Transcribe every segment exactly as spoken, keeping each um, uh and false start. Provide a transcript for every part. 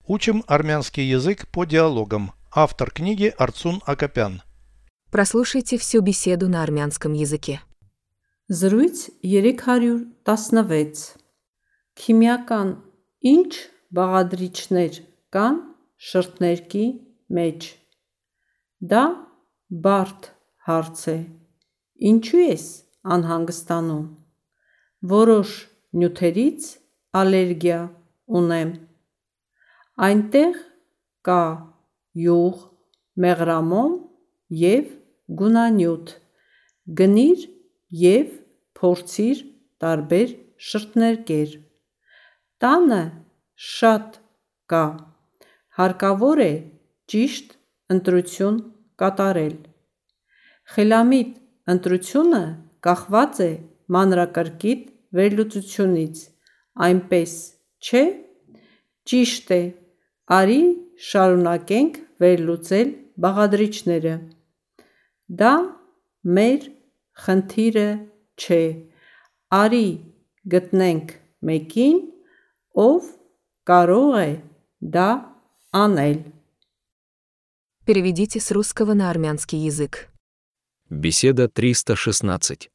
Учим армянский язык по диалогам. Автор книги Арцун Акопян. Прослушайте всю беседу на армянском языке. Զրույց երեք հարյուր տասնվեց Քիմիական ինչ բաղադրիչներ կան շրթներքի մեջ։ Դա բարդ հարց է։ Ինչու ես անհանգստանում։ Որոշ նյութերից ալերգիա ունեմ։ Այնտեղ կա յուղ, մեղրամոմ և գունանյութ։ Գնիր և փորձիր տարբեր շրթներկեր։ Տանը շատ կա։ Հարկավոր է ճիշտ ընտրություն կատարել։ Խելամիտ ընտրությունը կախված է մանրակրկիտ վերլուծությունից, այնպես չէ՞։ Ճիշտ է, արի շարունակենք վերլուծել բաղադրիչները։ Դա մեր խնդիրը չէ։ Արի գտնենք մեկին, ով կարող է դա անել։ Переведите с русского на армянский язык. Беседа триста шестнадцать.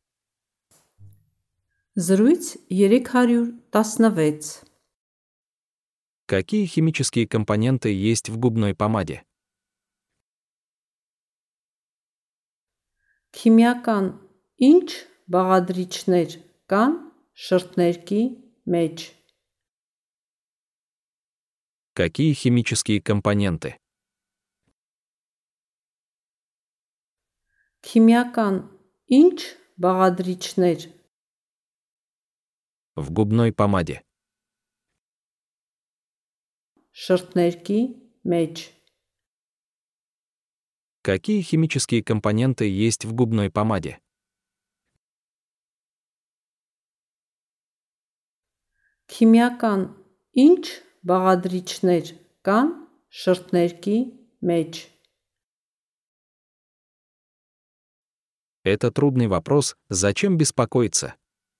Զրույց երեք հարյուր տասնվեց Какие химические компоненты есть в губной помаде? Քիմիական ինչ բաղադրիչներ կան շրթներքի մեջ։ Какие химические компоненты? Քիմիական ինչ բաղադրիչներ В губной помаде. շրթներքի մեջ։ Какие химические компоненты есть в губной помаде? Քիմիական ինչ բաղադրիչներ կան շրթներքի մեջ։ Это трудный вопрос, зачем беспокоиться?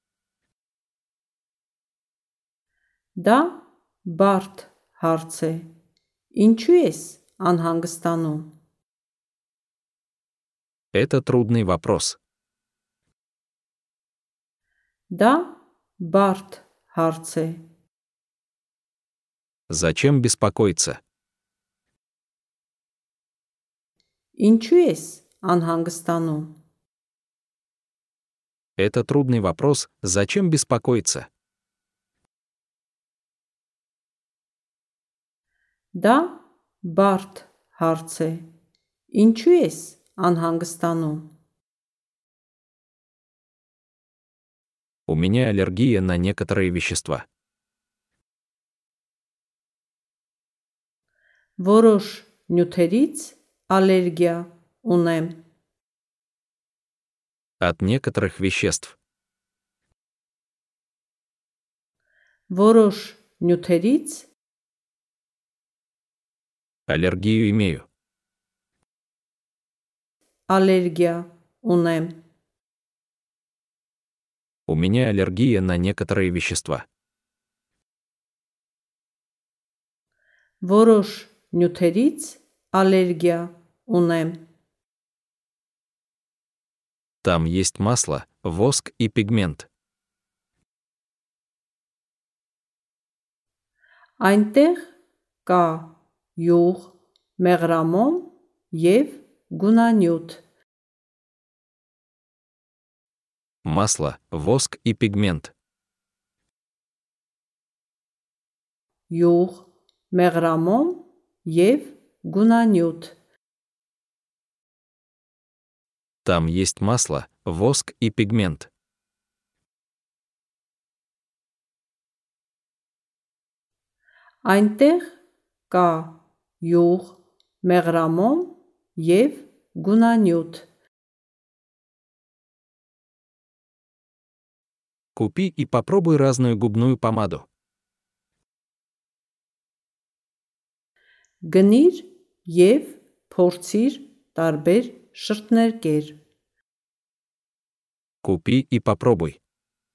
Դա բարդ հարց է։ Ինչու ես անհանգստանում։ Это трудный вопрос. Դա բարդ հարց է։ Зачем беспокоиться? Ինչու ես անհանգստանում։ Это трудный вопрос, зачем беспокоиться? Դա բարդ հարց է։ Ինչու ես անհանգստանում։ У меня аллергия на некоторые вещества. Որոշ նյութերից ալերգիա ունեմ։ От некоторых веществ. Որոշ նյութերից Аллергию имею. ալերգիա ունեմ։ У меня аллергия на некоторые вещества. Որոշ նյութերից ալերգիա ունեմ։ Там есть масло, воск и пигмент. Այնտեղ կա յուղ, մեղրամոմ և գունանյութ։ Масло, воск и пигмент. Յուղ, մեղրամոմ և գունանյութ։ Там есть масло, воск и пигмент. Այնտեղ կա յուղ, մեղրամոմ և գունանյութ։ Купи и попробуй разную губную помаду. Գնիր և փորձիր տարբեր շրթներկեր։ Купи и попробуй.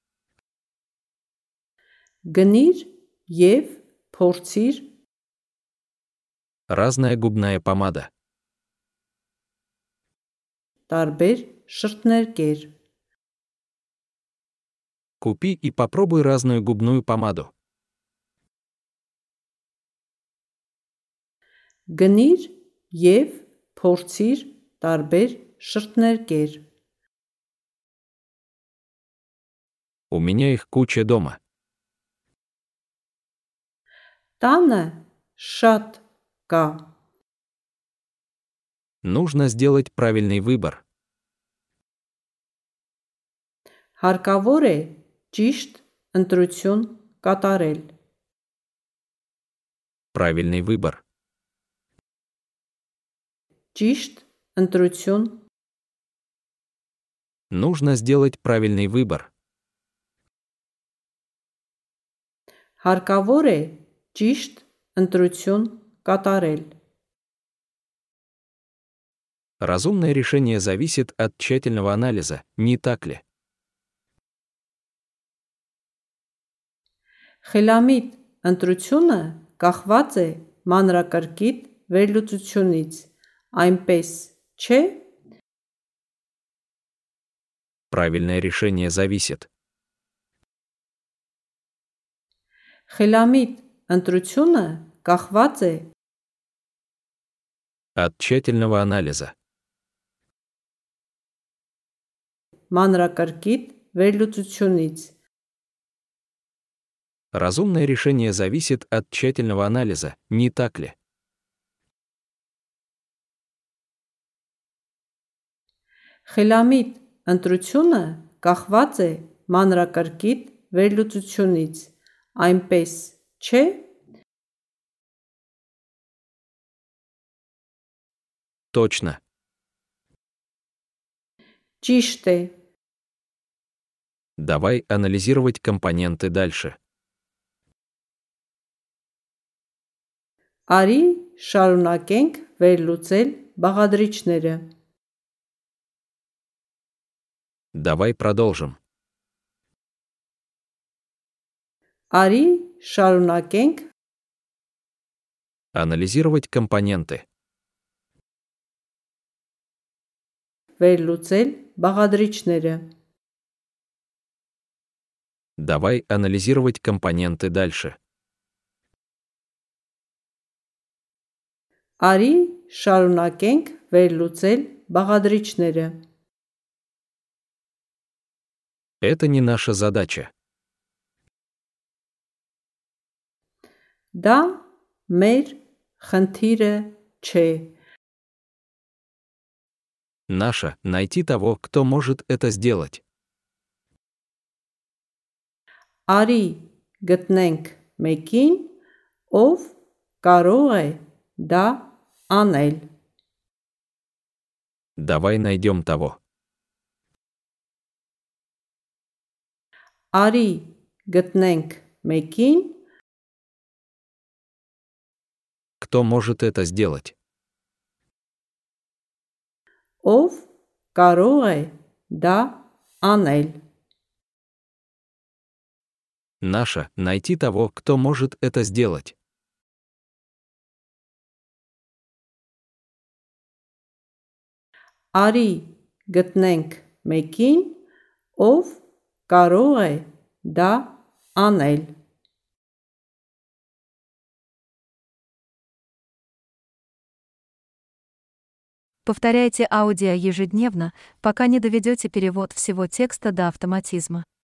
Գնիր և փորձիր Разная губная помада. Տարբեր շրթներ կեր։ Купи и попробуй разную губную помаду. Գնիր և փորձիր տարբեր շրթներ կեր։ У меня их куча дома. Տանը շատ կա։ Нужно сделать правильный выбор. Հարկավոր է ճիշտ ընտրություն կատարել։ Правильный выбор. Ճիշտ ընտրություն Нужно сделать правильный выбор. Հարկավոր է ճիշտ ընտրություն կատարել։ Разумное решение зависит от тщательного анализа, не так ли? Խելամիտ ընտրությունը կախված է մանրակրկիտ վերլուծությունից, այնպես չէ։ Правильное решение зависит. Խելամիտ ընտրությունը կախված է От тщательного анализа. մանրակրկիտ վերլուծությունից, Разумное решение зависит от тщательного анализа, не так ли? խելամիտ ընտրությունը կախված է մանրակրկիտ վերլուծությունից, այնպես չէ։ Точно. Ճիշտ է։ Давай анализировать компоненты дальше. Արի շարունակենք վերլուծել բաղադրիչները։ Давай продолжим. Արի շարունակենք Анализировать компоненты. վերլուծել բաղադրիչները։ Давай анализировать компоненты дальше. Արի շարունակենք վերլուծել բաղադրիչները։ Это не наша задача. Դա մեր խնդիրը չէ։ Наша — найти того, кто может это сделать. Արի գտնենք մեկին, ով կարող է դա անել։ Давай найдем того. Արի գտնենք մեկին, Кто может это сделать? ով կարող է դա անել։ Наша — найти того, кто может это сделать. Արի գտնենք մեկին, ով կարող է դա անել։ Повторяйте аудио ежедневно, пока не доведете перевод всего текста до автоматизма.